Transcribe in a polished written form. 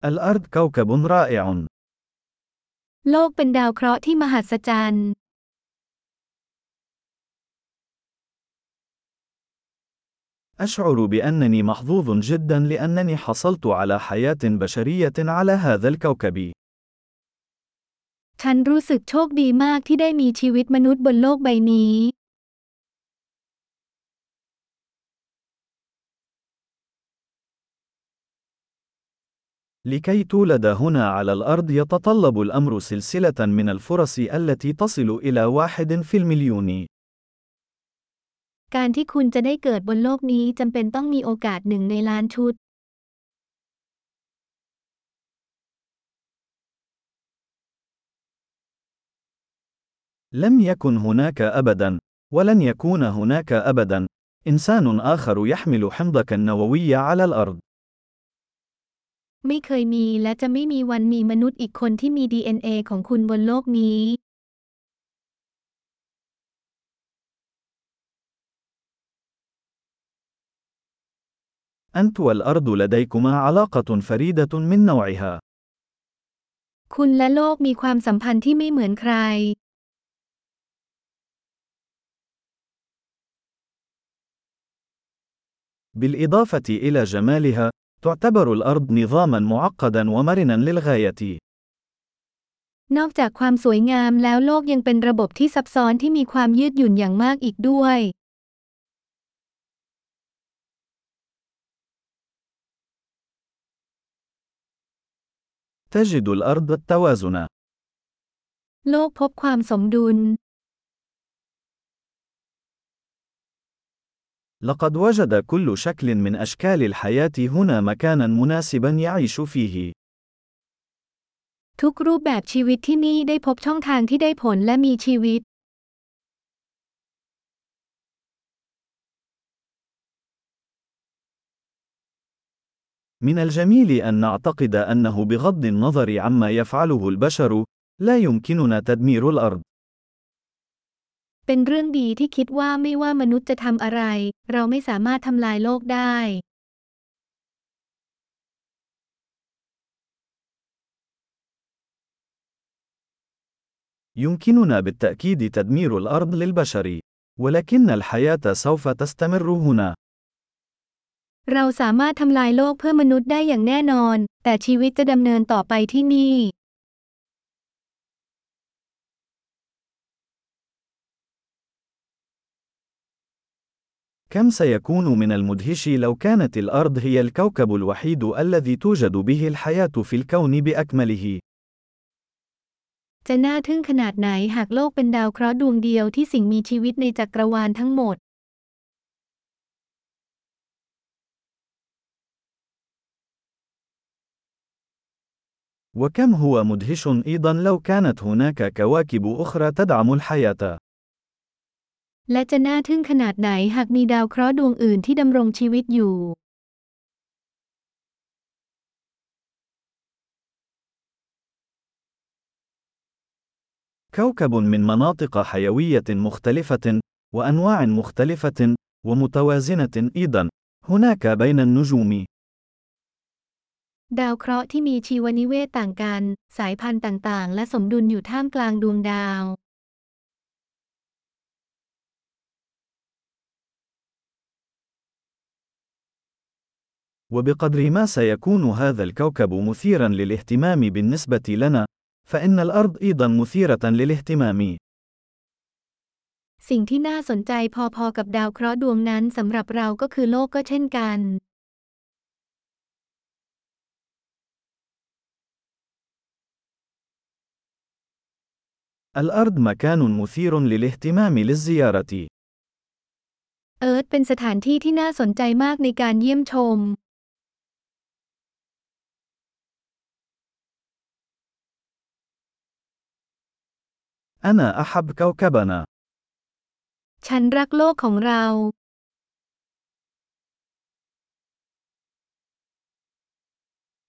الأرض كوكب رائع. โลกเป็นดาวเคราะห์ที่มหัศจรรย์ أشعر بأنني محظوظ جدا لأنني حصلت على حياة بشرية على هذا الكوكب. ฉันรู้สึกโชคดีมากที่ได้มีชีวิตมนุษย์บนโลกใบนี้ لكي تولد هنا على الأرض يتطلب الأمر سلسلة من الفرص التي تصل إلى 1 في المليون. การที่คุณจะได้เกิดบนโลกนี้จำเป็นต้องมีโอกาส1 ในล้านชุด لم يكن هناك أبدا، ولن يكون هناك أبدا، إنسان آخر يحمل حمضك النووي على الأرض. ไม่เคยมีและจะไม่มีวันมีมนุษย์อีกคนที่มี DNA ของคุณบนโลกนี้ أنت والأرض لديكما علاقة فريدة من نوعها. คุณและโลกมีความสัมพันธ์ที่ไม่เหมือนใคร بالإضافة إلى جمالها، تعتبر الأرض نظامًا معقدًا ومرنًا للغاية. นอกจากความสวยงามแล้วโลกยังเป็นระบบที่ซับซ้อนที่มีความยืดหยุ่นอย่างมากอีกด้วย تجد الأرض التوازن. โลกพบความสมดุล لقد وجد كل شكل من أشكال الحياة هنا مكانًا مناسبًا يعيش فيه. ทุกรูปแบบชีวิตที่นี่ได้พบช่องทางที่ได้ผลและมีชีวิต من الجميل أن نعتقد أنه بغض النظر عما يفعله البشر، لا يمكننا تدمير الأرض. เป็นเรื่องดีที่คิดว่าไม่ว่ามนุษย์จะทำอะไร เราไม่สามารถทำลายโลกได้ يمكننا بالتأكيد تدمير الأرض للبشر، ولكن الحياة سوف تستمر هنا. เราสามารถทำลายโลกเพื่อมนุษย์ได้อย่างแน่นอน แต่ชีวิตจะดำเนินต่อไปที่นี่ كم سيكون من المدهش لو كانت الأرض هي الكوكب الوحيد الذي توجد به الحياة في الكون بأكمله. จะน่าทึ่งขนาดไหนหากโลกเป็นดาวเคราะห์ดวงเดียวที่สิ่งมีชีวิตในจักรวาลทั้งหมด وكم هو مدهش أيضا لو كانت هناك كواكب أخرى تدعم الحياة. และจะน่าทึ่งขนาดไหนหากมีดาวเคราะห์ดวงอื่นที่ดำรงชีวิตอยู่ كوكب من مناطق حيوية مختلفة، وأنواع مختلفة، ومتوازنة أيضا، هناك بين النجوم. ดาวเคราะห์ที่มีชีวนิเวศต่างกัน สายพันธุ์ต่างๆ และสมดุลอยู่ท่ามกลางดวงดาว وبقدر ما سيكون هذا الكوكب مثيرا للاهتمام بالنسبة لنا، فإن الأرض أيضا مثيرة للاهتمام. สิ่งที่น่าสนใจพอๆกับดาวเคราะห์ดวงนั้นสำหรับเราก็คือโลกก็เช่นกัน الأرض مكان مثير للاهتمام للزيارة. เอิร์ธเป็นสถานที่ที่น่าสนใจมากในการเยี่ยมชม أنا أحب كوكبنا. ฉันรักโลกของเรา